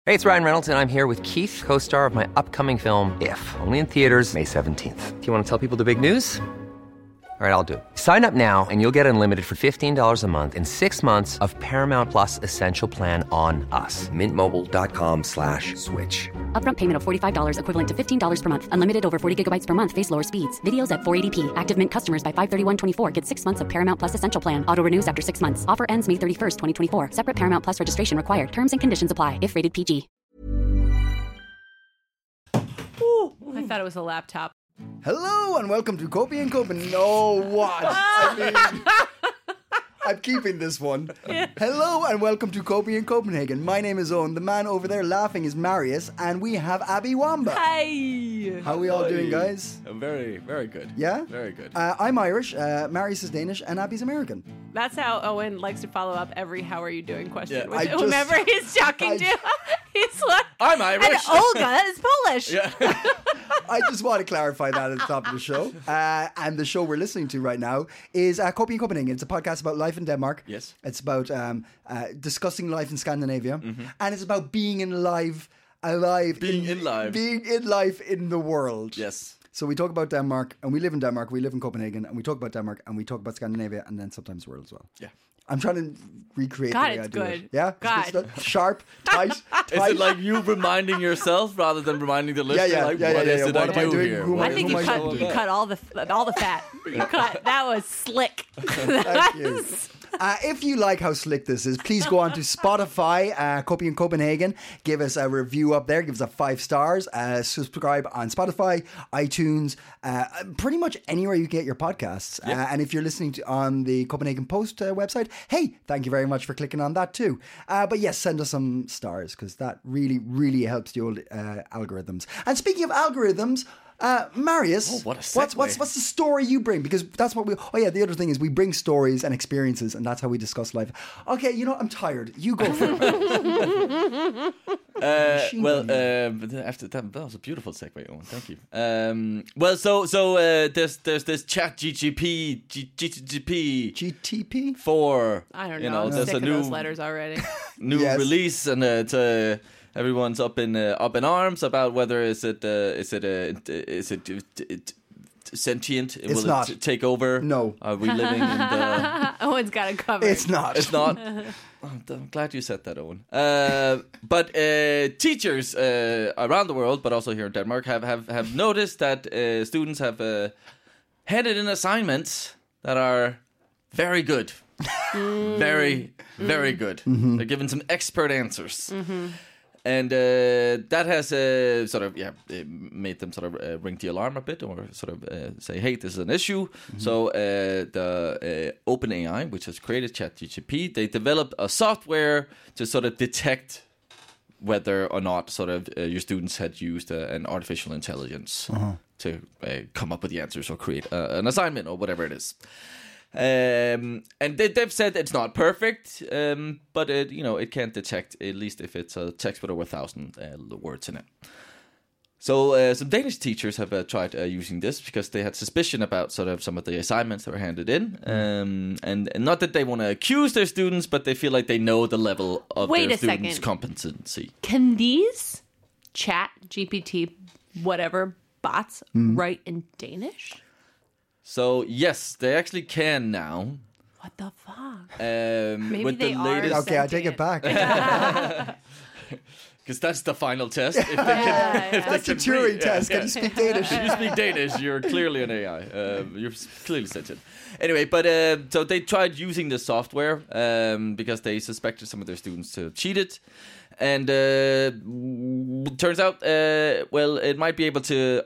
Hey, it's Ryan Reynolds, and I'm here with Keith, co-star of my upcoming film, If, only in theaters May 17th. Do you want to tell people the big news? All right, I'll do it. Sign up now and you'll get unlimited for $15 a month and 6 months of Paramount Plus Essential Plan on us. MintMobile.com/switch. Upfront payment of $45 equivalent to $15 per month. Unlimited over 40 gigabytes per month. Face lower speeds. Videos at 480p. Active Mint customers by 531.24 get 6 months of Paramount Plus Essential Plan. Auto renews after 6 months. Offer ends May 31st, 2024. Separate Paramount Plus registration required. Terms and conditions apply if rated PG. I thought it was a laptop. Hello and welcome to Copy and Copenhagen. No, what? I mean, I'm keeping this one. Hello and welcome to Copy in Copenhagen. My name is Owen. The man over there laughing is Marius, and we have Abby Wamba. Hey! How are we all doing, guys? Very, very good. Yeah? Very good. I'm Irish, Marius is Danish, and Abby's American. That's how Owen likes to follow up every "How are you doing?" question Yeah. with whomever he's talking to. He's like, I'm Irish. And Olga is Polish. Yeah. I just want to clarify that at the top of the show. And the show we're listening to right now is Copy in Copenhagen. It's a podcast about life in Denmark. Yes. It's about discussing life in Scandinavia. Mm-hmm. And it's about being alive Being in life in the world. Yes. So we talk about Denmark, and we live in Denmark. We live in Copenhagen, and we talk about Denmark, and we talk about Scandinavia, and then sometimes the world as well. Yeah. I'm trying to recreate God, the way it's I do good. it. Yeah? God. It's good stuff? Sharp, tight. Is it like you reminding yourself rather than reminding the listener? Yeah. Like, Yeah. what is it What I am I do doing? here? Who am I think Who you am I cut supposed to all the fat. You cut. That was slick. Thank you. If you like how slick this is, please go on to Spotify, Copy in Copenhagen. Give us a review up there. Give us a 5 stars. Subscribe on Spotify, iTunes, pretty much anywhere you get your podcasts. Yeah. And if you're listening on the Copenhagen Post website, hey, thank you very much for clicking on that too. But yes, send us some stars because that really, really helps the old algorithms. And speaking of algorithms, Marius, what a segue. what's the story you bring? Because that's what we... Oh, yeah, the other thing is we bring stories and experiences, and that's how we discuss life. Okay, you know, I'm tired. You go for it. After that was a beautiful segue, Owen. Thank you. There's this GTP GTP? for I don't know. you know. I'm There's sick a of new those letters already. Yes. release, and everyone's up in arms about whether is it sentient? It's Will not. it take over? No. Are we living in the? Owen's got it covered. It's not. It's not. I'm glad you said that, Owen. But teachers around the world, but also here in Denmark, have noticed that students have handed in assignments that are very good. Very, very good. Mm-hmm. They're given some expert answers. Mm-hmm. And that has made them sort of ring the alarm a bit, or sort of say, hey, this is an issue. Mm-hmm. So the OpenAI, which has created ChatGPT, they developed a software to sort of detect whether or not sort of your students had used an artificial intelligence to come up with the answers or create an assignment or whatever it is. And they've said it's not perfect, but it can detect, at least if it's a text with over 1,000 words in it. So some Danish teachers have tried using this because they had suspicion about sort of some of the assignments that were handed in, and not that they want to accuse their students, but they feel like they know the level of their students' competency. Can these chat GPT whatever bots write in Danish? So yes, they actually can now. What the fuck? Maybe with they the are latest... Okay, I take it back. Because that's the final test. If they can, That's the Turing test. Can you speak Danish? If you speak Danish, you're clearly an AI. You're clearly sentient. Anyway, but so they tried using the software because they suspected some of their students to cheat it. And turns out, it might be able to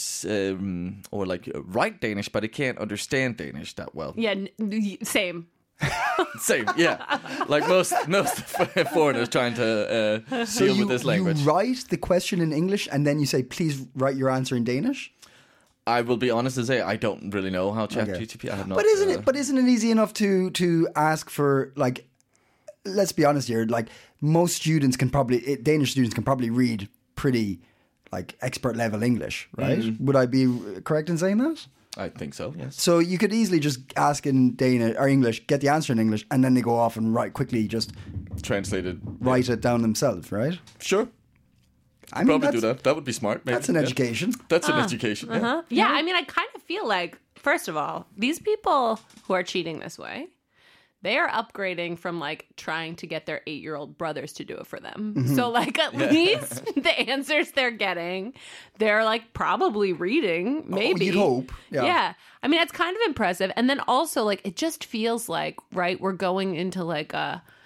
write Danish, but it can't understand Danish that well. Yeah, same. Same, yeah. Like most foreigners trying to deal with this language. You write the question in English and then you say, please write your answer in Danish? I will be honest and say I don't really know how ChatGPT. I have not. But isn't it easy enough to ask for, like, let's be honest here, like most students Danish students can probably read pretty like expert level English, right? Would I be correct in saying that? I think so. Yes. So you could easily just ask in Danish or English, get the answer in English, and then they go off and just Translated. write it down themselves, right? Sure. I mean, Probably do that. That would be smart. Maybe. That's an education. That's an education. Yeah. Yeah, I mean, I kind of feel like, first of all, these people who are cheating this way, they are upgrading from like trying to get their 8-year-old brothers to do it for them. So like at least the answers they're getting, they're like probably reading, maybe. You'd hope. Yeah. I mean, it's kind of impressive. And then also like, it just feels like, right, we're going into like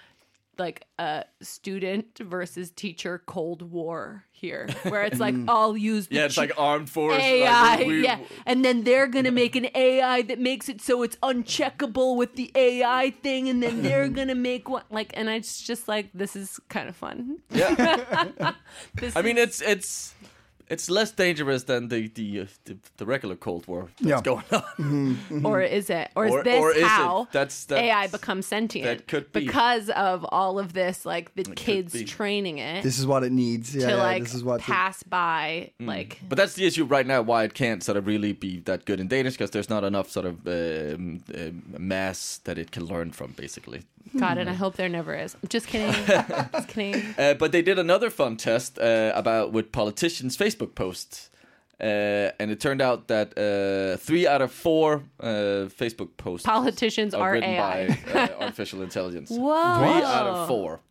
a student versus teacher Cold War here, where it's like, I'll use the It's like armed force. AI, Like and then they're gonna make an AI that makes it so it's uncheckable with the AI thing, and then they're gonna make one like, and it's just like, this is kind of fun. Yeah. I mean, it's less dangerous than the regular Cold War that's going on. Or is it? Or is Or- this or is it? how That's- AI becomes sentient? that could be. Because of all of this, like the kids be. training it This is what it needs. Yeah, to yeah, like this is what pass by, like. But that's the issue right now, why it can't sort of really be that good in Danish, because there's not enough sort of mass that it can learn from, basically. God, and I hope there never is. I'm just kidding. Just kidding. But they did another fun test with politicians' Facebook posts. And it turned out that 3 out of 4 Facebook posts Politicians are written AI. by artificial intelligence. Whoa. 3 out of 4.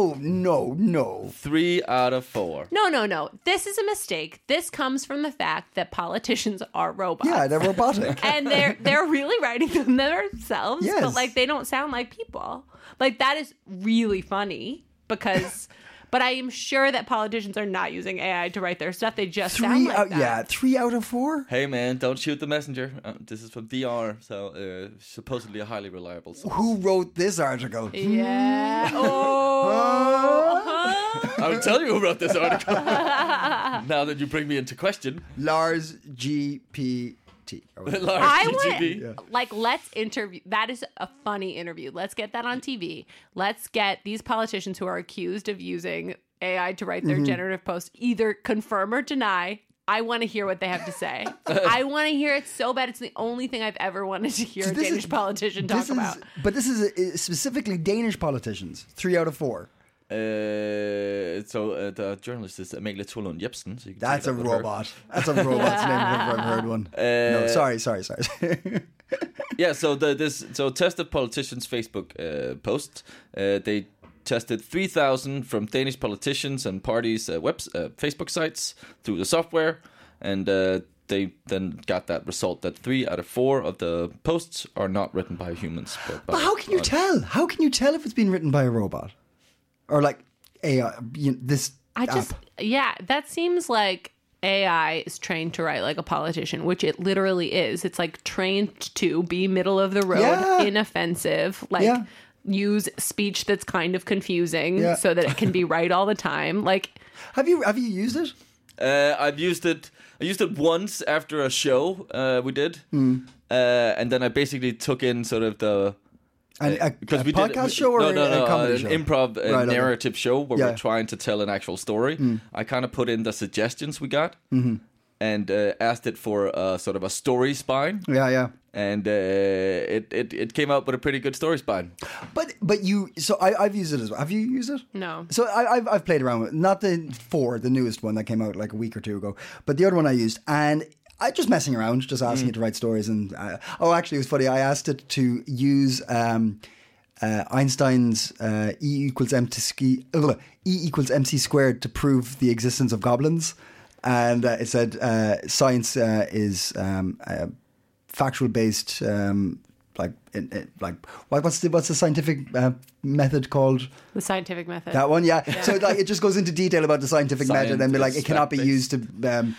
No. 3 out of 4. No. This is a mistake. This comes from the fact that politicians are robots. Yeah, they're robotic. And they're really writing them themselves, Yes. but like they don't sound like people. Like that is really funny because but I am sure that politicians are not using AI to write their stuff. They just sound like that. Yeah, 3 out of 4. Hey man, don't shoot the messenger. This is from DR, so supposedly a highly reliable source. Who wrote this article? Yeah. I'll tell you who wrote this article. Now that you bring me into question. Lars GPT. Lars I GGB. want, like, let's interview. That is a funny interview. Let's get that on TV. Let's get these politicians who are accused of using AI to write their generative posts either confirm or deny. I want to hear what they have to say. I want to hear it so bad. It's the only thing I've ever wanted to hear a Danish politician talk about. But this is specifically Danish politicians. 3 out of 4. So the journalist is Amalie Tolund Jepsen. So That's a robot. That's a robot's name if I've ever heard one. No, sorry. Yeah, so tested politicians' Facebook posts. They tested 3,000 from Danish politicians and parties' Facebook sites through the software, and they then got that result that 3 out of 4 of the posts are not written by humans. But how can you tell? How can you tell if it's been written by a robot? Or like AI, this app. That seems like AI is trained to write like a politician, which it literally is. It's like trained to be middle of the road, inoffensive, like use speech that's kind of confusing so that it can be right all the time. Like, have you used it? I've used it. I used it once after a show we did, and then I basically took in sort of the. A podcast show or a comedy show? An improv narrative show where we're trying to tell an actual story. I kind of put in the suggestions we got and asked it for sort of a story spine. Yeah. And it came out with a pretty good story spine. But I've used it as well. Have you used it? no. So I've played around with it. Not the newest one that came out like a week or two ago, but the other one I used, and I just messing around, just asking it to write stories. And actually, it was funny. I asked it to use Einstein's E equals MC squared to prove the existence of goblins, and it said science is factual based. What's the scientific method called? The scientific method. That one, yeah. So like it just goes into detail about the scientific method, and be like, it cannot be used to.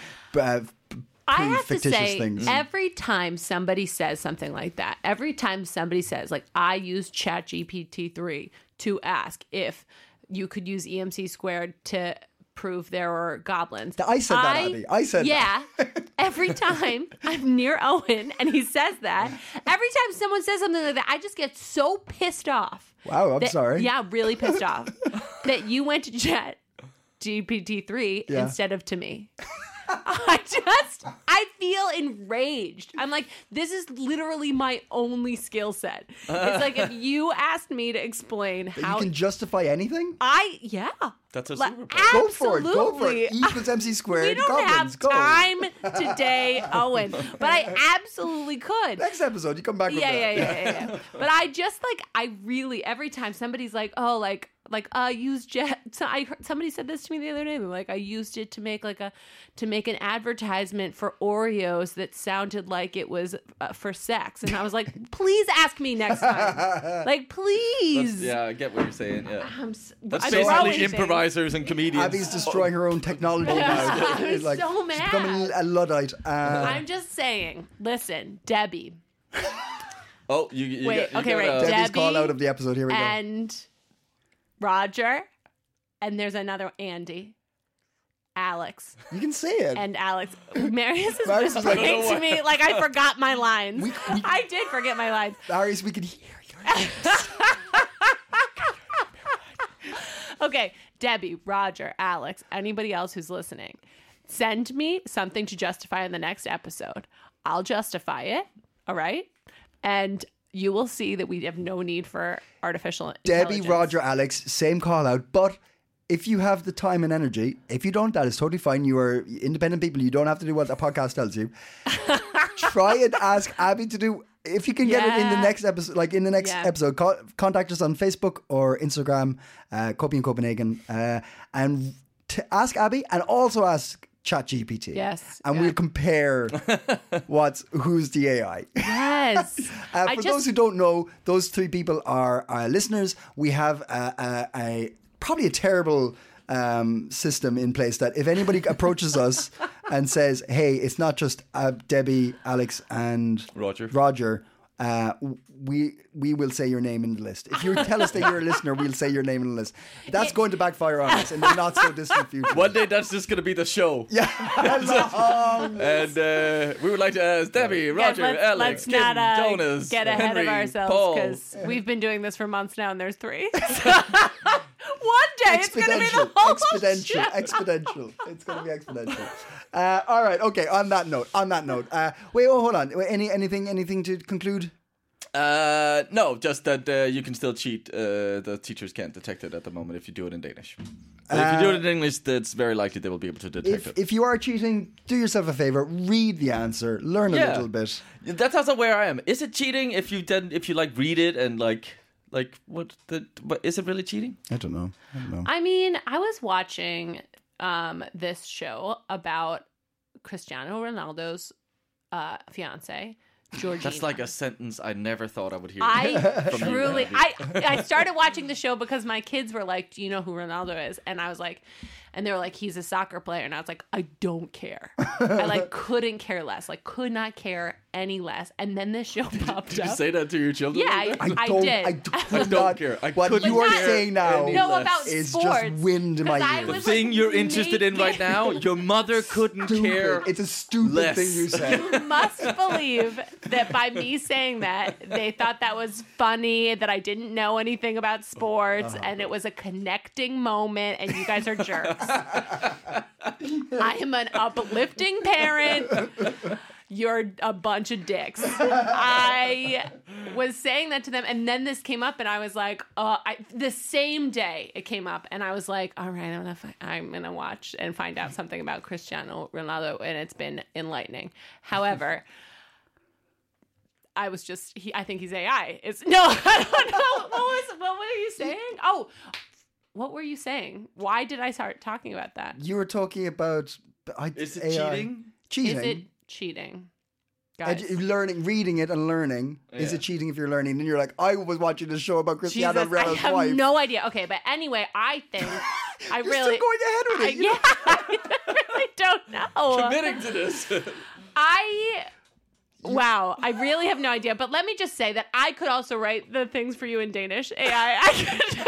I have to say, things. Every time somebody says something like that, every time somebody says, like, I used ChatGPT-3 to ask if you could use EMC squared to prove there were goblins. I said that, Abby. I said that. Yeah. Every time I'm near Owen and he says that, every time someone says something like that, I just get so pissed off. Wow, I'm sorry. Yeah, really pissed off that you went to ChatGPT-3 instead of to me. I feel enraged. I'm like, this is literally my only skill set. It's like if you asked me to explain how You can justify anything? That's a Like, superpower. Go for it. Go for absolutely. it. E equals MC squared. We don't Goblins, have go. time today, Owen. But I absolutely could. Next episode, you come back with that. Yeah. But I just like, I really, every time somebody's like, oh, like use jet. So somebody said this to me the other day. They're like, I used it to make an advertisement for Oreos that sounded like it was for sex. And I was like, please ask me next time. Like, please. Yeah, I get what you're saying. Yeah. That's I'm basically throwing improvisers and comedians. Abby's destroying her own technology now. I'm It's like, so she's mad. becoming a Luddite. I'm just saying. Listen, Debbie. Oh, you Wait, got, okay, you right. got, Debbie's Debbie call out of the episode. Here we go. And Roger, and there's another Andy, Alex, You can say it. and Alex. Marius is Marius is like, whispering "No to me like I forgot my lines. We- I did forget my lines. Darius, we can hear your names. Okay, Debbie, Roger, Alex, anybody else who's listening, send me something to justify in the next episode. I'll justify it. All right, and you will see that we have no need for artificial Debbie, intelligence. Roger, Alex, same call out. But if you have the time and energy, if you don't, that is totally fine. You are independent people. You don't have to do what a podcast tells you. Try and ask Abby to do. If you can get it in the Yeah. next episode, like in the next Yeah. episode, contact us on Facebook or Instagram, Copy in Copenhagen, and ask Abby and also ask ChatGPT. Yes, And yeah. we'll compare who's the AI. Yes. For those who don't know, those three people are our listeners. We have a probably a terrible system in place that if anybody approaches us and says, "Hey, it's not just Debbie, Alex, and Roger. we will say your name in the list. If you tell us that you're a listener, we'll say your name in the list. That's going to backfire on us in the not so distant future. One day that's just going to be the show. Yeah. And we would like to ask Debbie, Roger, Alex, let's Kim, not Jonas, get ahead Henry, of ourselves Paul. because we've been doing this for months now and there's 3. One day it's going to be the whole show. Exponential. It's going to be exponential. All right. Okay. On that note. Wait. Oh, hold on. Anything to conclude? No, just that you can still cheat. The teachers can't detect it at the moment if you do it in Danish. But if you do it in English, it's very likely they will be able to detect it. If you are cheating, do yourself a favor. Read the answer. Learn a little bit. That's also where I am. Is it cheating if you like read it and like what is it really cheating? I don't know. I mean, I was watching this show about Cristiano Ronaldo's fiance, Georgina. That's like a sentence I never thought I would hear. I from you, truly, Abby. I started watching the show because my kids were like, "Do you know who Ronaldo is?" And I was like, and they were like, "He's a soccer player," and I was like, "I don't care." I like couldn't care less, like could not care any less. And then this show popped Did you up. say that to your children? Yeah, I I don't. did. I don't not, care. I what couldn't you are care saying now any No, less. about is sports. just wind in my 'Cause I ears. The was, thing like, you're interested in right naked. now, your mother couldn't care. It's a stupid less. thing you said. You must believe that by me saying that, they thought that was funny, that I didn't know anything about sports, and it was a connecting moment, and you guys are jerks. I am an uplifting parent. You're a bunch of dicks. I was saying that to them, and then this came up, and I was like, the same day it came up, and I was like, all right, I'm gonna watch and find out something about Cristiano Ronaldo, and it's been enlightening. However, I was just, I think he's AI. I don't know. What were you saying? Oh, what were you saying? Why did I start talking about that? You were talking about Is it AI. cheating? Cheating. Is it cheating? Guys. Learning, reading it and learning. Is it cheating if you're learning? And you're like, I was watching this show about Cristiano Jesus, I Ronaldo's have wife. no idea. Okay, but anyway, I think I You're really still going ahead with it. You know? I really don't know. Committing to this. Wow, I really have no idea. But let me just say that I could also write the things for you in Danish. AI. I could.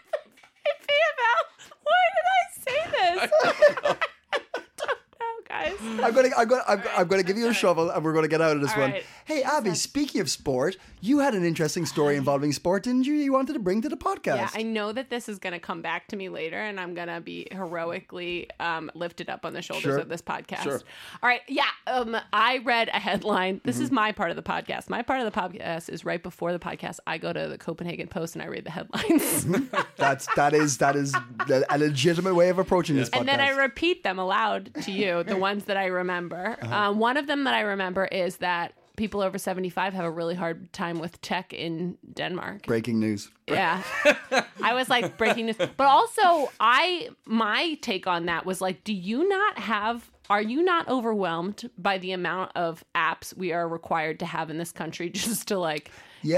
Why did I say this? I don't know, guys. I'm gonna give you a shovel, and we're gonna get out of this All one. right. Hey, Abby. Speaking of sport, you had an interesting story involving sport, didn't you? You wanted to bring to the podcast. Yeah, I know that this is going to come back to me later, and I'm going to be heroically lifted up on the shoulders of this podcast. Sure. All right. Yeah. I read a headline. This is my part of the podcast. My part of the podcast is right before the podcast. I go to the Copenhagen Post and I read the headlines. That is a legitimate way of approaching this podcast. And then I repeat them aloud to you, the ones that I remember. One of them that I remember is that people over 75 have a really hard time with tech in Denmark. Breaking news. Yeah. I was like, breaking news. But also, my take on that was like, are you not overwhelmed by the amount of apps we are required to have in this country just to like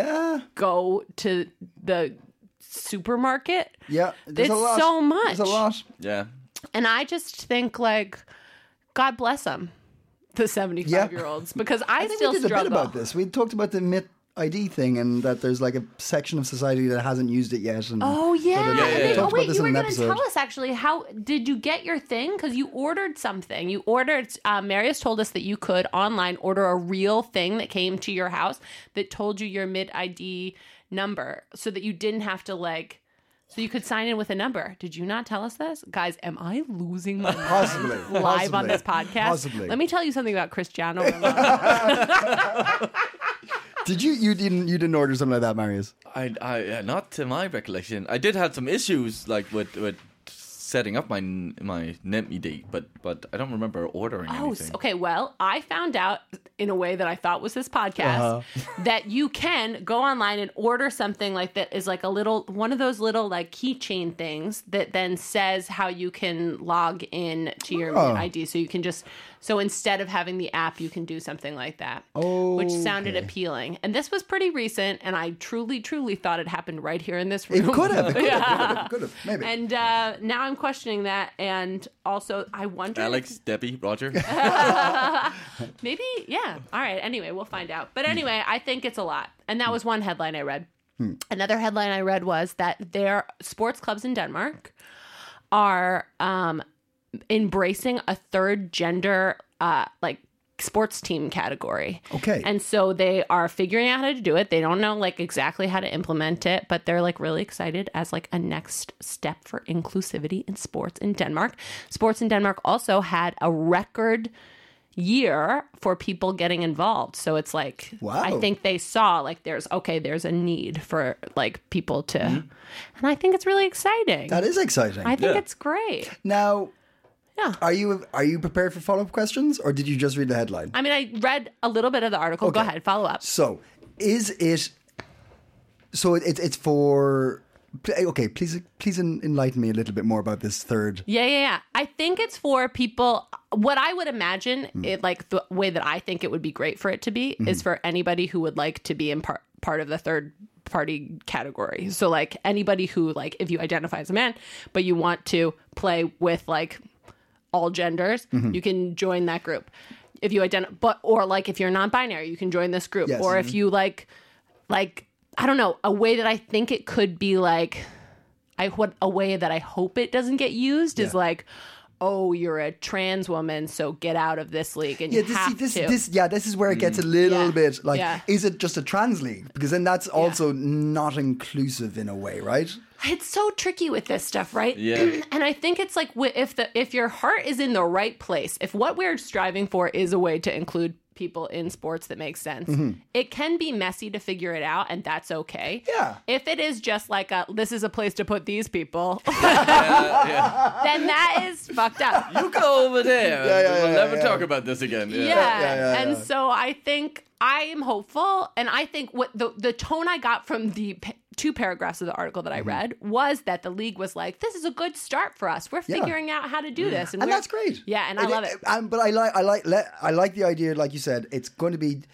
go to the supermarket? Yeah. There's It's a lot. so much. There's a lot. Yeah. And I just think like, God bless them, the 75-year-olds, because I think still we did struggle. a bit about this. We talked about the MIT ID thing and that there's like a section of society that hasn't used it yet. And Oh yeah. We And then- talked about wait, this you in were an going to episode. tell us actually how did you get your thing? Because you ordered something. You ordered. Marius told us that you could online order a real thing that came to your house that told you your mid ID number, so that you didn't have to like. So you could sign in with a number. Did you not tell us this? Guys, am I losing my mind Possibly. live on Possibly. this podcast? Possibly. Let me tell you something about Cristiano Ronaldo. Did you didn't order something like that, Marius? I not to my recollection. I did have some issues like with setting up my NemID, but I don't remember ordering anything. Okay. Well, I found out in a way that I thought was this podcast that you can go online and order something like that is like one of those little like keychain things that then says how you can log in to your ID. So you can so instead of having the app, you can do something like that, which sounded appealing. And this was pretty recent, and I truly, truly thought it happened right here in this room. It could have, maybe. And now I'm questioning that, and also I wonder. Alex, Debbie, Roger. Maybe, yeah. All right. Anyway, we'll find out. But anyway, I think it's a lot. And that was one headline I read. Another headline I read was that their sports clubs in Denmark are embracing a third gender like sports team category. Okay. And so they are figuring out how to do it. They don't know like exactly how to implement it, but they're like really excited as like a next step for inclusivity in sports in Denmark. Sports in Denmark also had a record year for people getting involved. So it's like, Wow. I think they saw like there's a need for like people to, and I think it's really exciting. That is exciting. I think it's great. Now, Yeah. are you prepared for follow-up questions, or did you just read the headline? I mean, I read a little bit of the article. Go Okay. ahead, follow up. So, is it? So it's for. Okay, please enlighten me a little bit more about this third. Yeah. I think it's for people. What I would imagine, it like the way that I think it would be great for it to be, is for anybody who would like to be in part of the third party category. So like anybody who like, if you identify as a man, but you want to play with like all genders, you can join that group. If you or like if you're non-binary, you can join this group. Yes. Or if you like I don't know, a way that I think it could be like a way that I hope it doesn't get used is like, oh, you're a trans woman, so get out of this league and you have to. This is where it gets a little bit like, is it just a trans league? Because then that's also not inclusive in a way, right? It's so tricky with this stuff, right? Yeah. And I think it's like if your heart is in the right place, if what we're striving for is a way to include people in sports that makes sense, it can be messy to figure it out, and that's okay. Yeah. If it is just like this is a place to put these people, then that is fucked up. You go over there. We'll never talk about this again. And so I think I am hopeful, and I think what the tone I got from the two paragraphs of the article that I read was that the league was like, "This is a good start for us. We're figuring out how to do this," and that's great. Yeah, and I love it. But I like the idea, like you said, it's going to be.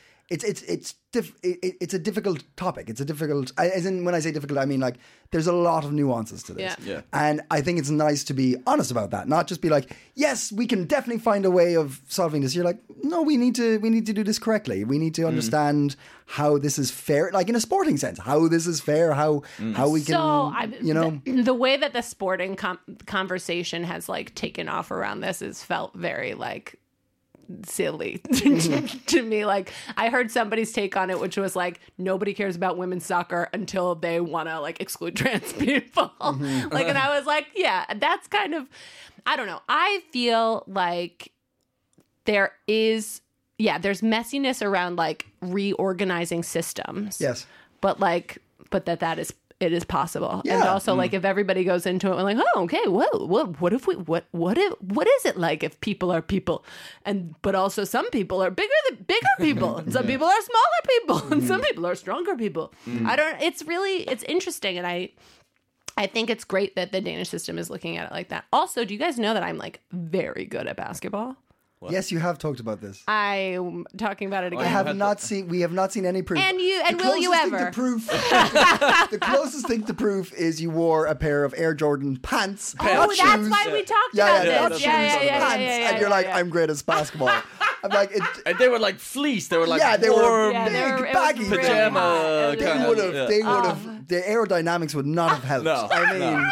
It's a difficult topic. It's a difficult, as in when I say difficult, I mean like there's a lot of nuances to this. Yeah. And I think it's nice to be honest about that, not just be like, yes, we can definitely find a way of solving this. You're like, no, we need to do this correctly. We need to understand how this is fair, like in a sporting sense, how this is fair, how we can, the way that the sporting conversation has like taken off around this has felt very like silly to me. Like, I heard somebody's take on it, which was like, nobody cares about women's soccer until they want to like exclude trans people. Like, and I was like, yeah, that's kind of, I don't know. I feel like there's messiness around like reorganizing systems. Yes. But it is possible. Yeah. And also like if everybody goes into it and like, oh, okay, what is it like if people are people? But also some people are bigger people. And some people are smaller people. And some people are stronger people. It's interesting. And I think it's great that the Danish system is looking at it like that. Also, do you guys know that I'm like very good at basketball? What? Yes, you have talked about this. I'm talking about it again. We have not seen any proof. And The will you closest ever? The closest thing to proof is you wore a pair of Air Jordan pants. Oh, not that's shoes. why we talked Yeah, about not this. shoes, pants. And you're like, I'm great at basketball. I'm like, And they were like fleece. They were like they were warm Yeah, they were- big, it was baggy. really pajama hot. It was kind really of. They would have. The aerodynamics would not have helped. No, I mean,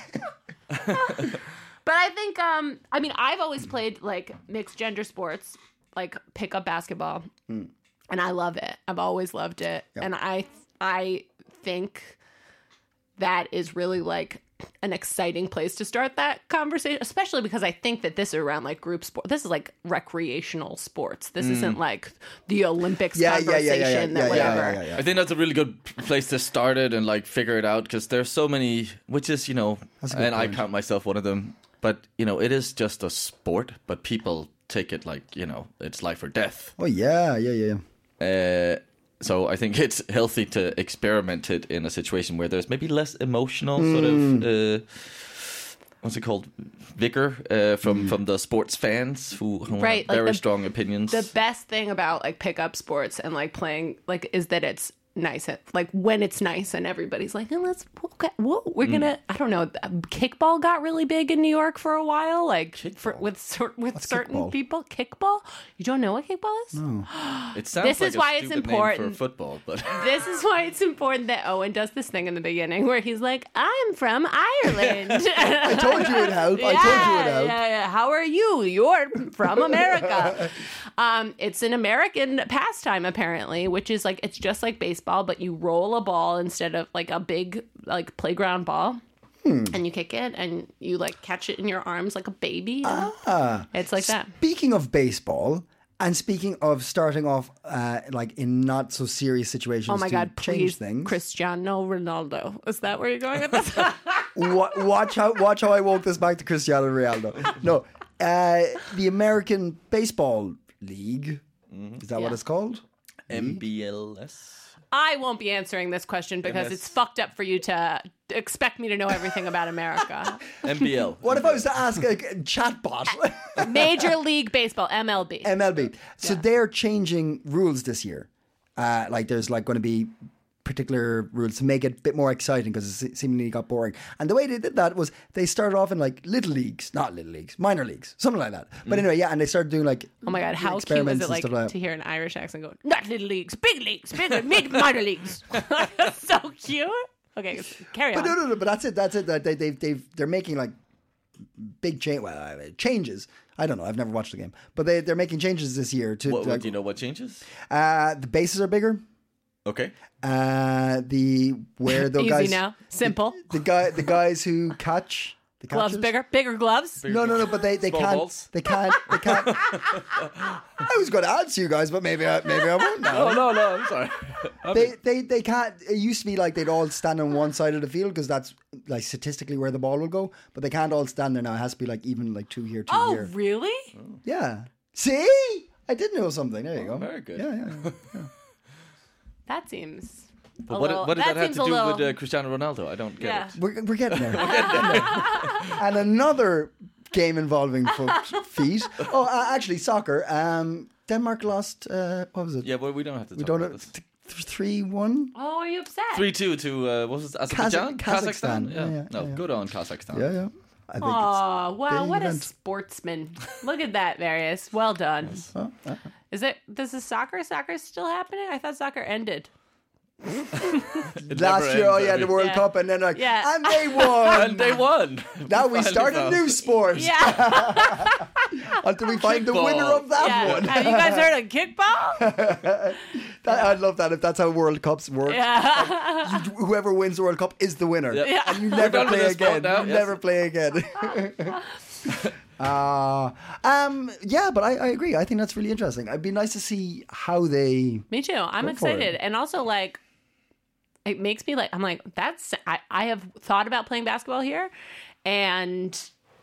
But I think, I've always played like mixed gender sports, like pickup basketball, and I love it. I've always loved it, and I think that is really like an exciting place to start that conversation, especially because I think that this is around like group sport. This is like recreational sports. This isn't like the Olympics conversation that whatever. I think that's a really good place to start it and like figure it out because there's so many, which is, and I count myself one of them, but it is just a sport, but people take it like, it's life or death. oh yeah. So I think it's healthy to experiment it in a situation where there's maybe less emotional sort of, what's it called, vigor from the sports fans who have Right, like very strong opinions. The best thing about like pickup sports and like playing like is that it's nice. Like when it's nice and everybody's like, oh, we're gonna. I don't know. Kickball got really big in New York for a while. Like with certain kickball? people. Kickball. You don't know what kickball is? No. It sounds This like is a why it's stupid name important. for football, but This is why it's important that Owen does this thing in the beginning where he's like, I'm from Ireland. I told you it'd help. I told you it'd help. Yeah. How are you? You're from America. It's an American pastime, apparently, which is like, it's just like baseball, but you roll a ball instead of like a big like playground ball. And you kick it and you like catch it in your arms like a baby. It's like that. Speaking of baseball, and speaking of starting off like in not so serious situations, Oh my to God, change please, things. Cristiano Ronaldo. Is that where you're going with this? Watch how I woke this back to Cristiano Ronaldo. No, the American Baseball League. Is that what it's called? MBLS. I won't be answering this question because MS. it's fucked up for you to expect me to know everything about America. MBL. What if I was to ask a chatbot? Major League Baseball, MLB. MLB. So they're changing rules this year. Like there's like going to be particular rules to make it a bit more exciting because it seemingly got boring. And the way they did that was they started off in like minor leagues, something like that. But anyway, and they started doing like Oh my God, how cute was experiments it and like stuff like that. to hear an Irish accent go, not little leagues, bigger, minor leagues. So cute. Okay, carry on. But no, but that's it. They're making like big changes. I don't know. I've never watched the game, but they're making changes this year to. What, like, do you know what changes? the bases are bigger. Okay. Where the Easy guys now. Simple. the guys who catch the Gloves catchers? bigger gloves. No, but they Small can't. balls? They can't. I was going to answer you guys, but maybe I won't now. No, I'm sorry. They can't. It used to be like they'd all stand on one side of the field because that's like statistically where the ball will go. But they can't all stand there now. It has to be like even like 2 here, 2 Oh, here. really? Yeah. See, I did know something. There you go. Very good. Yeah. That seems. But a what little, did that have seems to a do little, with Cristiano Ronaldo? I don't get Yeah. it. We're getting there. And another game involving feet. Oh, actually, soccer. Denmark lost. What was it? Yeah, well, we don't have to We talk don't about have this. 3-1. Oh, are you upset? 3-2 to, what was it, Azerbaijan? Kazakhstan. Yeah. Yeah. Good on Kazakhstan. Yeah. I think Oh, wow, big what a event. sportsman. Look at that, Various. Well done. This is soccer? Soccer's still happening? I thought soccer ended. last year, the World Yeah. Cup, and then like, Yeah. and they won. And they won. Now we Finally start a found. new sport. Yeah. until we find the Kickball. winner of that one. Have you guys heard of kickball? I love that if that's how World Cups work. Yeah. Whoever wins the World Cup is the winner. Yep. Yeah. And you never done with play this sport again. now, You yes. never play again. Yeah, but I agree. I think that's really interesting. It'd be nice to see how they... Me too. I'm Go for excited. it. And also, like, it makes me like, I'm like, I have thought about playing basketball here. And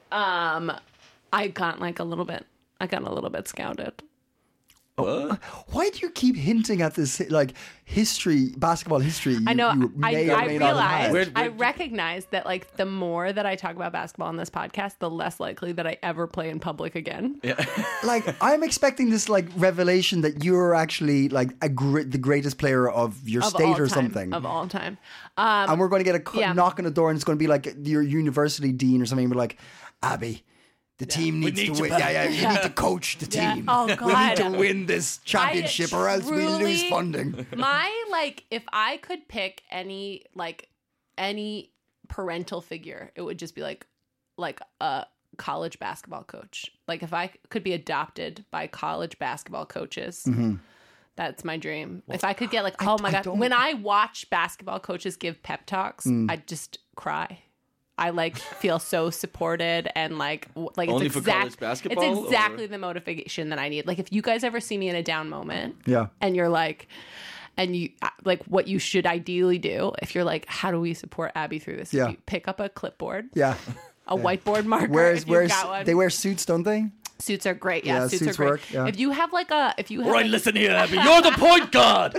I got a little bit scouted. What? Why do you keep hinting at this, like, basketball history? I know. You may or I may not have had? realized. Where- I recognize that like the more that I talk about basketball on this podcast, the less likely that I ever play in public again. Yeah. Like, I'm expecting this, like, revelation that you're actually, like, the greatest player of your Of state all or time, something. Of all time. And we're going to get a yeah. knock on the door, and it's going to be like your university dean or something. We're like, Abby, the team needs need to you win. back." You need to coach the Yeah. team. Oh, We God. need to win this championship, or else we lose truly- funding. My like, if I could pick any parental figure, it would just be like a college basketball coach. Like if I could be adopted by college basketball coaches. That's my dream. If I could get like, oh my I God. don't- When I watch basketball coaches give pep talks, I just cry. I like feel so supported and like Only it's for college basketball, It's exactly or- the motivation that I need. Like if you guys ever see me in a down moment, Yeah. and you're like, and you like what you should ideally do if you're like, how do we support Abby through this? Yeah. You pick up a clipboard, Yeah. a whiteboard marker. Where's if you've got one. they wear suits, don't they? Suits are great. Yeah, Yeah, suits suits are great. work, yeah. If you have like a, if you have All right, like, listen here, Abby. You're the point guard.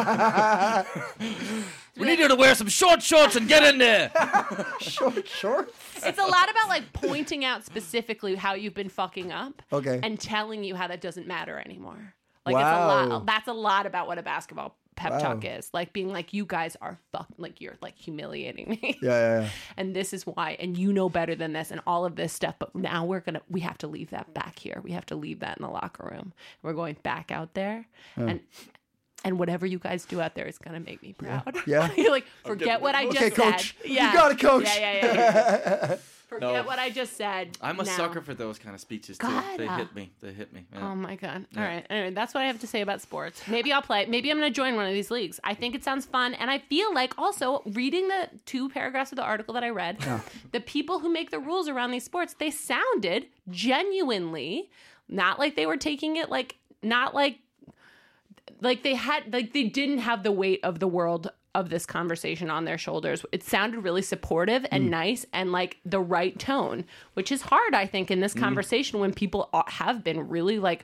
We need you to wear some short shorts and get in there. Sure. it's a lot about like pointing out specifically how you've been fucking up. Okay. And telling you how that doesn't matter anymore. Like Wow. it's a lot. That's a lot about what a basketball pep talk is. Like being like, you guys are like you're like humiliating me. Yeah. And this is why, and you know better than this, and all of this stuff. But now we have to leave that back here. We have to leave that in the locker room. We're going back out there, and whatever you guys do out there is gonna make me proud. Yeah. You're like, forget what I just Okay, said. coach. You got it, coach. Yeah. Forget No. what I just said. I'm a now. sucker for those kind of speeches too. God. They hit me. Yeah. Oh my God. All right. Anyway, that's what I have to say about sports. Maybe I'll play. Maybe I'm going to join one of these leagues. I think it sounds fun. And I feel like also reading the 2 paragraphs of the article that I read, the people who make the rules around these sports, they sounded genuinely not like they were taking it like, not like they had, like they didn't have the weight of the world of this conversation on their shoulders. It sounded really supportive and nice and like the right tone, which is hard, I think, in this conversation when people have been really like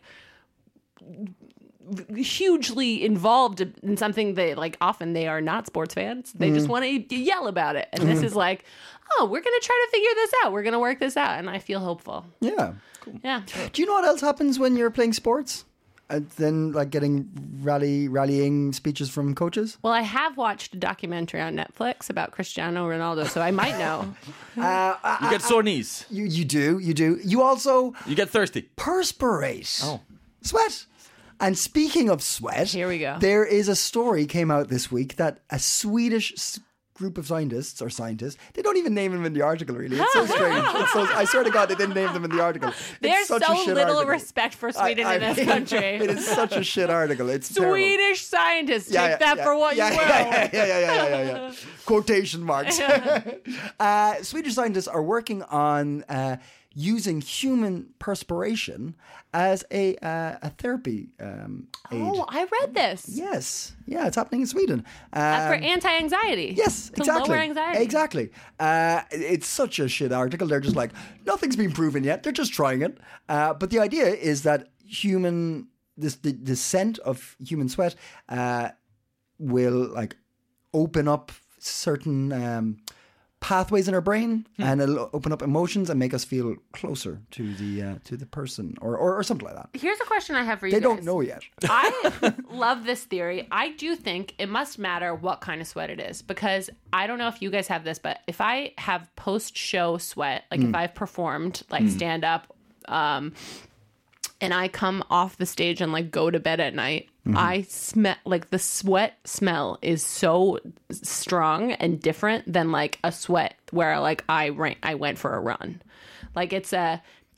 hugely involved in something they like. Often they are not sports fans. They just want to yell about it. And this is like, oh, we're going to try to figure this out. We're going to work this out. And I feel hopeful. Yeah. Yeah. Do you know what else happens when you're playing sports? And then, like, getting rallying speeches from coaches? Well, I have watched a documentary on Netflix about Cristiano Ronaldo, so I might know. You get sore knees. You do. You also You get thirsty. perspirate. Oh. Sweat. And speaking of sweat, Here we go. There is a story came out this week that a Swedish group of scientists, they don't even name them in the article, really. It's so strange. I swear to God, they didn't name them in the article. There's such a so shit little article. respect for Sweden in this mean, country. It is such a shit article. It's terrible. Swedish scientists, take that for what you will. Yeah. Quotation marks. Swedish scientists are working on using human perspiration as a therapy aid. Oh, I read this. Yes. Yeah, it's happening in Sweden. For anti-anxiety. Yes, to exactly. lower anxiety. Exactly. It's such a shit article. They're just like, nothing's been proven yet. They're just trying it. But the idea is that the scent of human sweat will like open up certain pathways in our brain, and it'll open up emotions and make us feel closer to the person or something like that. Here's a question I have for you They guys. don't know yet. I love this theory. I do think it must matter what kind of sweat it is, because I don't know if you guys have this, but if I have post-show sweat, like if I've performed like stand up, and I come off the stage and like go to bed at night, I smell like the sweat smell is so strong and different than like a sweat where like I went for a run. Like it's a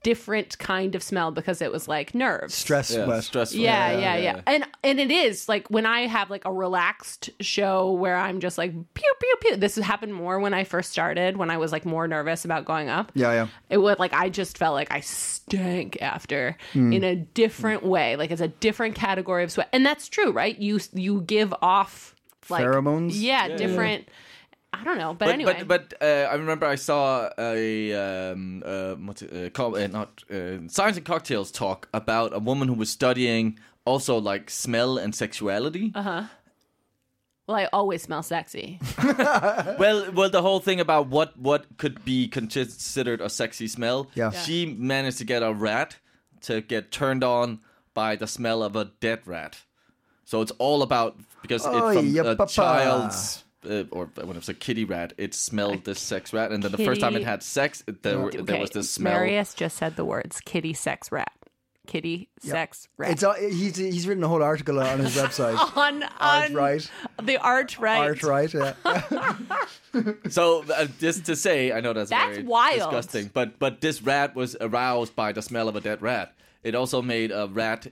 different kind of smell because it was like nerves. Stress sweat. Stressful. Yeah. And it is like when I have like a relaxed show where I'm just like pew pew pew. This happened more when I first started, when I was like more nervous about going up. Yeah. It would like I just felt like I stank after in a different way. Like it's a different category of sweat, and that's true, right? You give off like Pheromones? Yeah, different. I don't know, but anyway. But I remember I saw Science and Cocktails talk about a woman who was studying also like smell and sexuality. Well, I always smell sexy. Well, the whole thing about what could be considered a sexy smell. Yeah. She managed to get a rat to get turned on by the smell of a dead rat. So it's all about because a child's. Or when it was a kitty rat, it smelled this sex rat, and then the first time it had sex, there was this smell. Marius just said the words kitty sex rat. Kitty sex rat. It's he's written a whole article on his website. on Art-Right. The Art-Right. Art-Right, yeah. So just to say, I know that's very wild. disgusting, but this rat was aroused by the smell of a dead rat. It also made a rat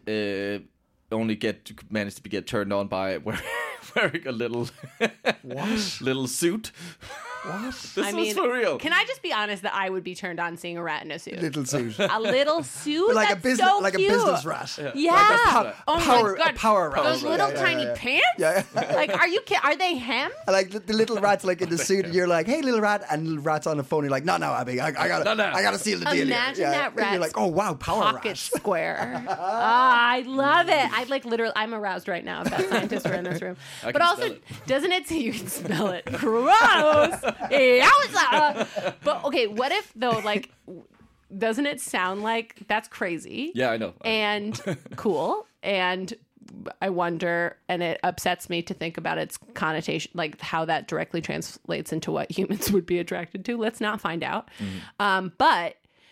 manage to get turned on by wearing a little little suit. What? This was for real. Can I just be honest that I would be turned on seeing a rat in a suit? Little suit. A little suit? Like That's a business, so like cute. a business rat. Yeah. Oh power- my God. a power rat. Those little Yeah, tiny yeah. pants? Yeah. Like, are you kidding? Are they hem? Like the little rat's like in the suit, and you're like, "Hey, little rat," and little rat's on the phone. You're like, "No, Abby, I gotta seal the deal." Imagine here. that And you're rat's like, "Oh wow, power pocket rat." square. I love it. I like literally. I'm aroused right now if that scientists were in this room. But can also, smell doesn't it? You can smell it. Gross. Yowza. But okay, what if though? Like, doesn't it sound like that's crazy? Yeah, I know. And cool. And I wonder, and it upsets me to think about its connotation, like how that directly translates into what humans would be attracted to. Let's not find out. But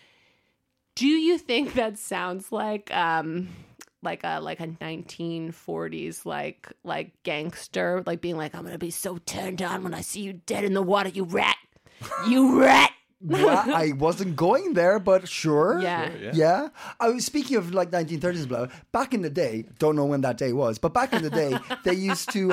do you think that sounds like a 1940s like gangster, like being like, I'm gonna be so turned on when I see you dead in the water, you rat, you rat. Yeah, I wasn't going there, but sure. Yeah. I was speaking of like 1930s blah. Back in the day, don't know when that day was, but back in the day, they used to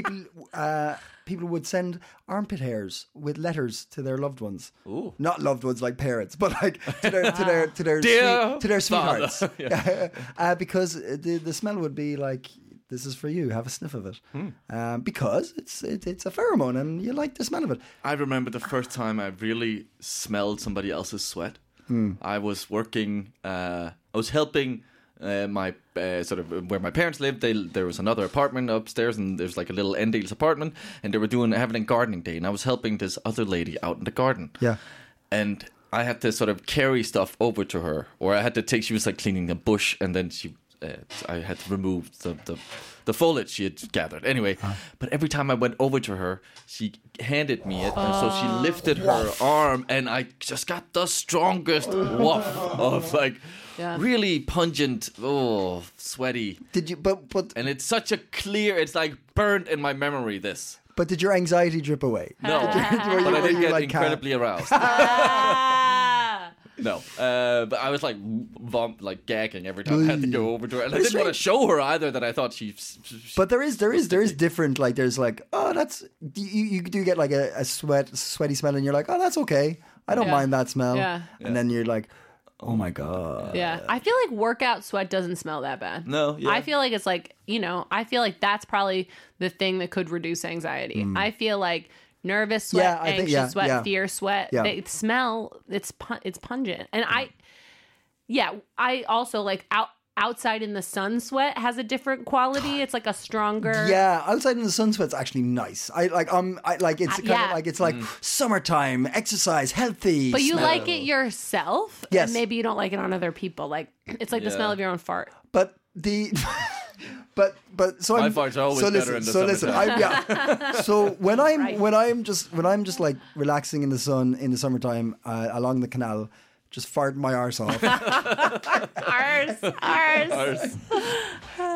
people would send armpit hairs with letters to their loved ones. Ooh. Not loved ones like parents, but like to their sweethearts. Because the smell would be like, this is for you. Have a sniff of it, because it's a pheromone, and you like the smell of it. I remember the first time I really smelled somebody else's sweat. I was working. I was helping my sort of where my parents lived. There was another apartment upstairs, and there's like a little Endales apartment, and they were having a gardening day, and I was helping this other lady out in the garden. Yeah, and I had to sort of carry stuff over to her, or I had to take. She was like cleaning a bush, and then I had to remove the foliage she had gathered. Anyway, but every time I went over to her, she handed me it, and so she lifted her arm, and I just got the strongest waft of like really pungent, sweaty. Did you? But And it's such a clear. It's like burned in my memory. This. But did your anxiety drip away? No, but I did get incredibly aroused. No, but I was like gagging every time I had to go over to her, and I didn't want to show her either that I thought she. But there is different. Like there's like, oh, that's you do get like a sweaty smell, and you're like, oh, that's okay. I don't mind that smell. Yeah. And then you're like, oh my god. Yeah, I feel like workout sweat doesn't smell that bad. No, yeah. I feel like it's like, I feel like that's probably the thing that could reduce anxiety. I feel like nervous sweat, anxious sweat, fear sweat, they smell, it's pungent. And I also like outside in the sun sweat has a different quality. It's like a stronger. Yeah, outside in the sun sweat's actually nice. I like it's kind of like it's like summertime, exercise, healthy. But you smell. like it yourself, Yes. and maybe you don't like it on other people. Like it's like the smell of your own fart. But the but so My farts are always better in the summertime. So when I'm just like relaxing in the sun in the summertime along the canal, just farting my arse off. Ours.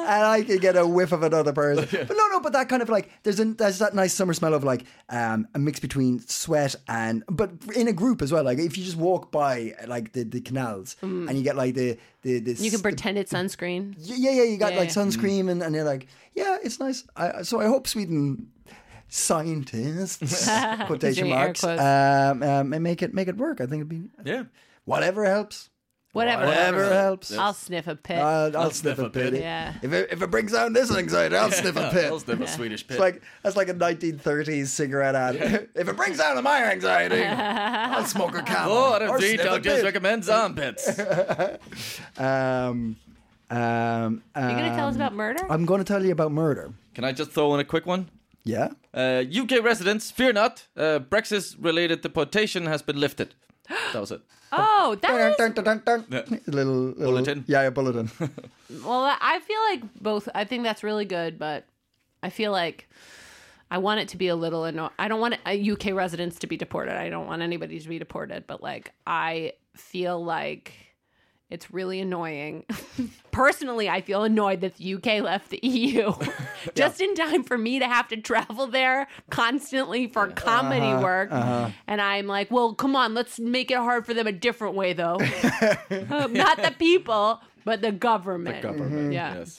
and I can get a whiff of another person. But but that kind of like there's that nice summer smell of like a mix between sweat but in a group as well. Like if you just walk by like the canals and you get like the You can pretend it's sunscreen. Yeah, you got like sunscreen and you're like, yeah, it's nice. So I hope Sweden scientists quotation marks make it work. I think it'd be whatever helps. Whatever helps. I'll sniff a pit. I'll sniff a pit. Yeah. If it brings down this anxiety, I'll sniff a pit. I'll sniff a Swedish pit. That's like a 1930s cigarette ad. If it brings down my anxiety, I'll smoke a Camel. Oh, I don't or think sniff a I'll just pit. recommend armpits. Are you going to tell us about murder? I'm going to tell you about murder. Can I just throw in a quick one? Yeah. UK residents, fear not. Brexit-related deportation has been lifted. That was it. Oh, that is... Little Bulletin? Yeah, bulletin. Well, I feel like both... I think that's really good, but I feel like I want it to be a little... I don't want UK residents to be deported. I don't want anybody to be deported, but like I feel like... It's really annoying. Personally, I feel annoyed that the UK left the EU just in time for me to have to travel there constantly for comedy work. And I'm like, well, come on, let's make it hard for them a different way, though. Not the people, but the government. The government, yes.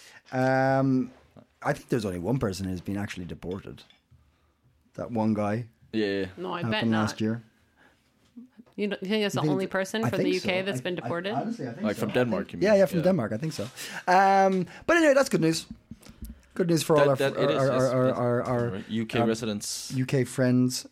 I think there's only one person who's been actually deported. That one guy. Yeah. No, I bet happened not. last year. You think it's the only person I for the think UK so. that's been deported? Honestly, I think Like so. from Denmark, you mean? Yeah, from Denmark. I think so. But anyway, that's good news. Good news for all our UK residents. UK friends.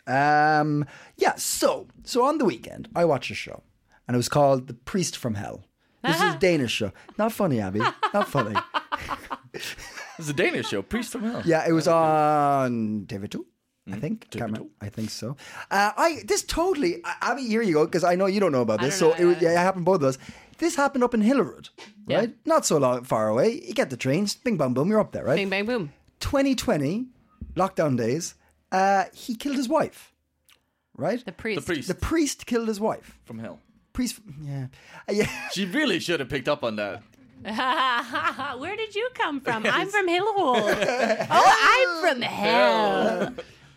So on the weekend, I watched a show, and it was called The Priest from Hell. This is a Danish show. Not funny, Abby. Not funny. It's a Danish show, Priest from Hell. Yeah, it was on TV2. I think. Can't remember. I think so. Abby, here you go, because I know you don't know about this. It happened both of us. This happened up in Hillerud, right? Yeah. Not so far away. You get the trains, bing, bang, boom, you're up there, right? Bing, bang, boom. 2020, lockdown days, he killed his wife, right? The priest. The priest killed his wife. From Hell. Priest, yeah. She really should have picked up on that. Where did you come from? I'm from Hillwood. I'm from hell.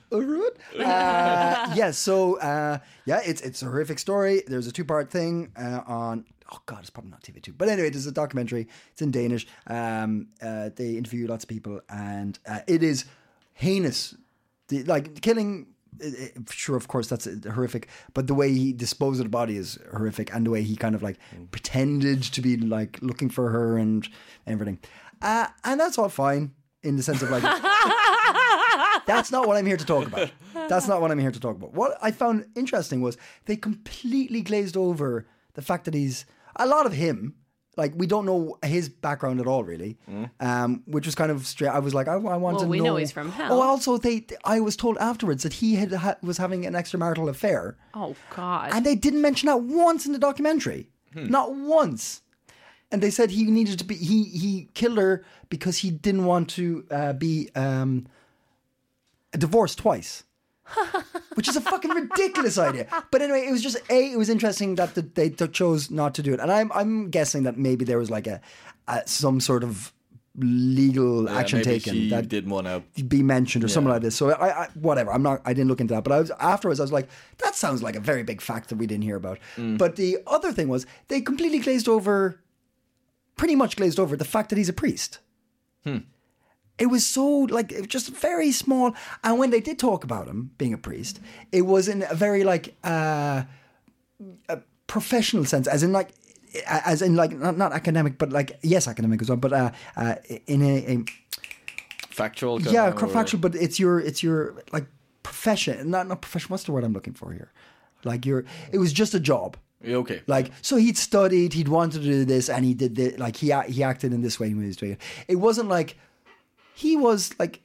It's a horrific story. There's a 2-part thing on. Oh God, it's probably not TV2, but anyway, there's a documentary. It's in Danish. They interview lots of people, and it is heinous. Killing. Sure, of course, that's horrific. But the way he disposed of the body is horrific, and the way he kind of like pretended to be like looking for her and everything, and that's all fine in the sense of like. That's not what I'm here to talk about. What I found interesting was they completely glazed over the fact that a lot of him, like we don't know his background at all, really, which was kind of straight. I was like, I want to know. We know he's from hell. Oh, also, I was told afterwards that he was having an extramarital affair. Oh, God. And they didn't mention that once in the documentary. Not once. And they said he needed to be, he killed her because he didn't want to be divorced twice. Which is a fucking ridiculous idea. But anyway, it was just it was interesting that they chose not to do it, and I'm guessing that maybe there was like some sort of legal action maybe taken she that didn't want to be mentioned or something like this. So I whatever. I didn't look into that, but afterwards I was like, that sounds like a very big fact that we didn't hear about. But the other thing was they completely pretty much glazed over the fact that he's a priest. It was so, like, it was just very small. And when they did talk about him being a priest, it was in a very, like, a professional sense, as in, like, not academic, but, like, yes, academic as well, but in a factual. Factual, but it's your, like, profession. Not profession, what's the word I'm looking for here? Like, it was just a job. Okay. Like, so he'd studied, he'd wanted to do this, and he did this, like, he acted in this way when he was doing it. It wasn't like, he was like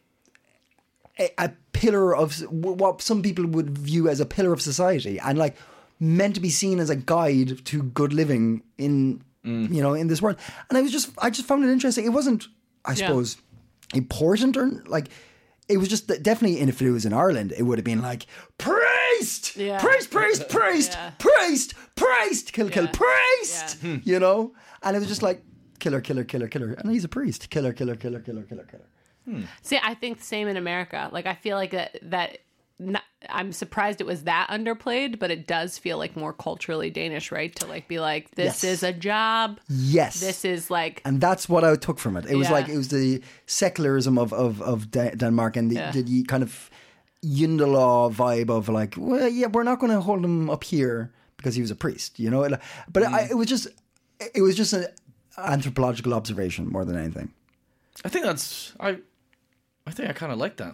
a pillar of what some people would view as a pillar of society, and like meant to be seen as a guide to good living in in this world. And I just found it interesting. It wasn't, I suppose, important or like. It was just that definitely, if it was in Ireland, it would have been like priest, priest, kill, priest, and it was just like. killer, killer, killer, killer. And he's a priest. Killer, killer, killer, killer, killer, killer. See, I think the same in America. Like, I feel like that I'm surprised it was that underplayed, but it does feel like more culturally Danish, right? To like be like, this Yes. is a job. Yes. This is like, And that's what I took from it. It was Yeah. like, it was the secularism of Denmark and the kind of Yndelaw vibe of like, well, yeah, we're not going to hold him up here because he was a priest, you know? But it was just an anthropological observation more than anything. I think that's I think I kind of like that.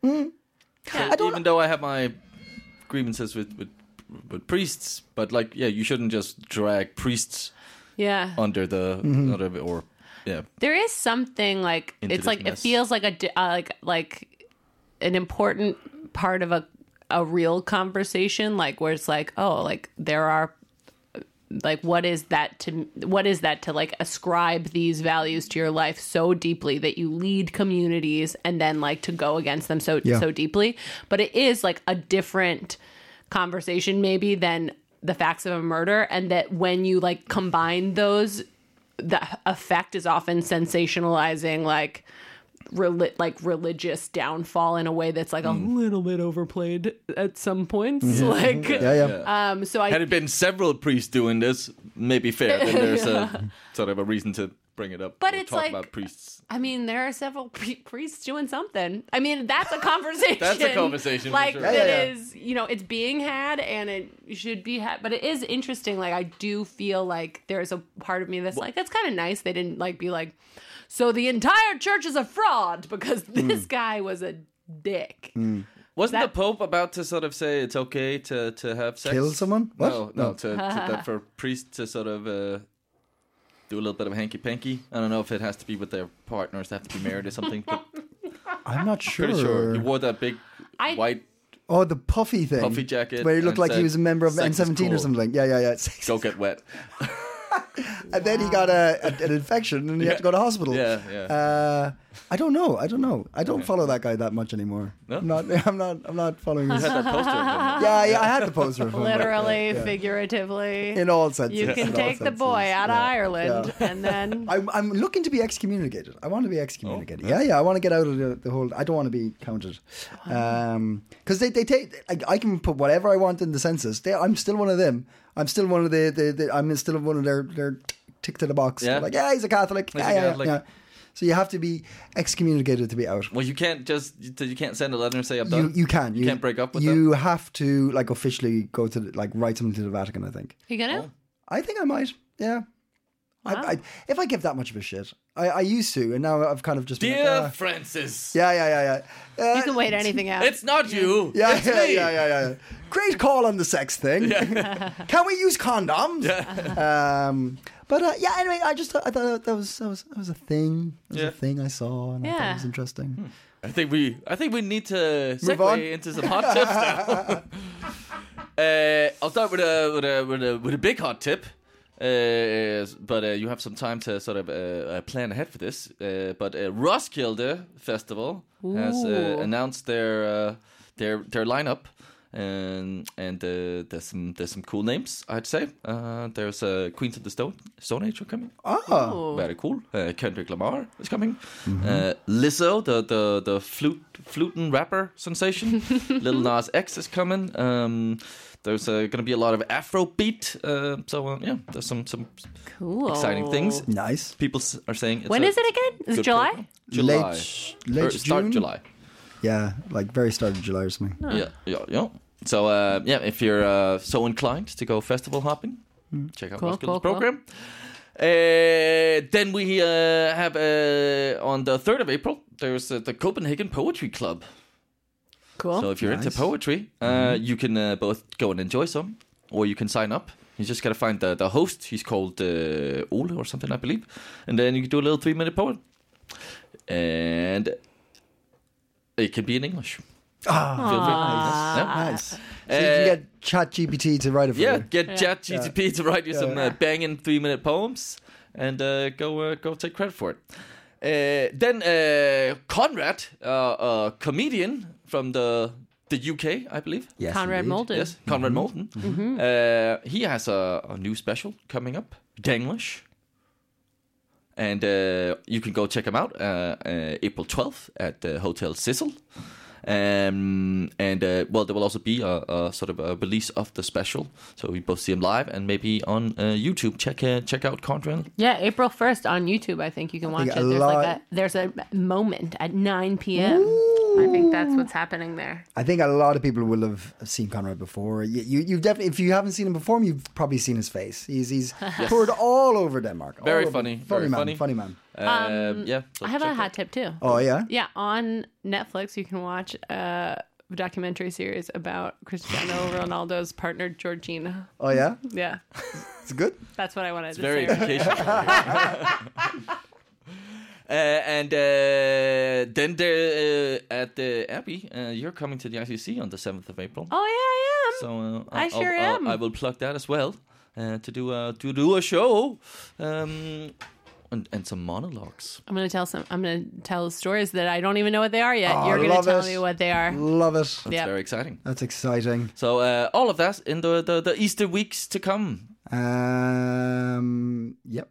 yeah. Even though I have my grievances with priests, but like, yeah, you shouldn't just drag priests yeah. under the or yeah. There is something like Into it's this like mess. it feels like like an important part of a real conversation, like where it's like, oh, like there are like what is that to like ascribe these values to your life so deeply that you lead communities and then like to go against them so deeply. But it is like a different conversation maybe than the facts of a murder, and that when you like combine those, the effect is often sensationalizing like religious downfall in a way that's like a little bit overplayed at some points. Like, Yeah. so I Had it been several priests doing this, maybe fair. Then there's a sort of a reason to bring it up. But or it's talk like- about priests. I mean, there are several priests doing something. I mean, that's a conversation. That's a conversation, for Like, sure. that Yeah. is, you know, it's being had and it should be had. But it is interesting. Like, I do feel like there's a part of me that's like, that's kind of nice. They didn't, like, be like, so the entire church is a fraud because this guy was a dick. Wasn't That- the Pope about to sort of say it's okay to have sex? Kill someone? What? No, to that for priests to sort of do a little bit of hanky panky. I don't know if it has to be with their partners, they have to be married or something. But I'm not sure. pretty sure he wore that big white Oh, the puffy thing. puffy jacket, Where he looked and like he was a member of said, "Sex is N17 or cool. something. Yeah. Sex. Go get wet. And then he got an infection and he had to go to hospital. Yeah. I don't know. I don't follow that guy that much anymore. No? I'm not following his. You had that poster of him. Yeah, I had the poster of him. Literally, Yeah. figuratively. In all senses. You can in all take the senses. boy out of Yeah, Ireland yeah. and then... I'm looking to be excommunicated. I want to be excommunicated. Oh, Yeah. I want to get out of the whole. I don't want to be counted. Because they take. I can put whatever I want in the census. I'm still one of them. I'm still one of I'm still one of their tick to the box. Yeah. Like, yeah, he's a Catholic. He's a Yeah. Catholic. So you have to be excommunicated to be out. Well, you can't send a letter and say I'm done. You can. You can't break up with You them. have to like officially go to write something to the Vatican. I think. You gonna? I think I might. Yeah. I, if I give that much of a shit, I used to, and now I've kind of just been Dear like, Francis, yeah. You can wait anything out. it's not you. Yeah, it's me. yeah. Great call on the sex thing. Can we use condoms? But anyway, I thought that was a thing. It was a thing I saw, and I thought it was interesting. I think we need to Move on. segue into some hot tips now. I'll start with a big hot tip. But you have some time to sort of plan ahead for this. But Roskilde Festival has announced their lineup, and there's some cool names, I'd say. There's Queens of the Stone Age are coming. Oh, Very cool. Kendrick Lamar is coming. Lizzo, the flutin' rapper sensation. Lil Nas X is coming. There's going to be a lot of Afrobeat. There's some Cool. exciting things. nice. People are saying it's When a is it again? Is it good July? program. July. Late Start June? July. Yeah, like very start of July or something. Yeah. So if you're so inclined to go festival hopping, check out Roskilde's cool. program. Then we have on the 3rd of April, there's the Copenhagen Poetry Club. Cool. So if you're into poetry, you can both go and enjoy some, or you can sign up. You just got to find the host. He's called Ole or something, I believe. And then you can do a little 3-minute poem. And it can be in English. Feel free. Yeah. Nice. So you can get ChatGPT to write it for Yeah, you. get ChatGPT to write you some banging 3-minute poems, and go take credit for it. Then Conrad, a comedian from the UK, I believe. Yes, Conrad indeed. Molden. Yes, Conrad Molden. He has a new special coming up, Danglish. And you can go check them out April 12th at Hotel Cecil. There will also be a sort of a release of the special, so we both see him live and maybe on YouTube. Check out Contrail. Yeah, April 1st on YouTube. I think you can watch it. There's a moment at 9 p.m. Ooh. I think that's what's happening there. I think a lot of people will have seen Conrad before. You definitely, if you haven't seen him before, you've probably seen his face. He's toured all over Denmark. Very funny. Funny man. So I have a hot tip too. Oh yeah? Yeah, on Netflix you can watch a documentary series about Cristiano Ronaldo's partner Georgina. Oh yeah? Yeah. It's good? That's what I wanted to say. Very educational. Then at the Abbey, you're coming to the ICC on the 7th of April. Oh yeah, I am. So I sure am. I will plug that as well to do a show. And some monologues. I'm gonna tell stories that I don't even know what they are yet. You're gonna tell me what they are. Love it. That's very exciting. That's exciting. So all of that in the Easter weeks to come. Yep.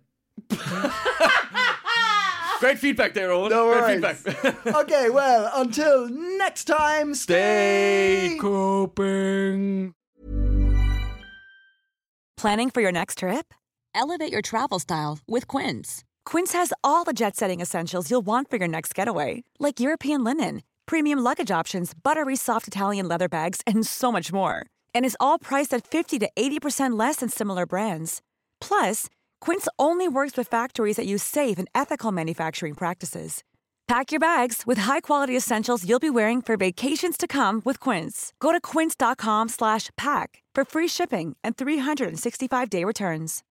Great feedback there, Owen. No worries. Great feedback. Okay, well, until next time, stay coping. Planning for your next trip? Elevate your travel style with Quince. Quince has all the jet-setting essentials you'll want for your next getaway, like European linen, premium luggage options, buttery soft Italian leather bags, and so much more. And is all priced at 50 to 80% less than similar brands. Plus, Quince only works with factories that use safe and ethical manufacturing practices. Pack your bags with high-quality essentials you'll be wearing for vacations to come with Quince. Go to quince.com/pack for free shipping and 365-day returns.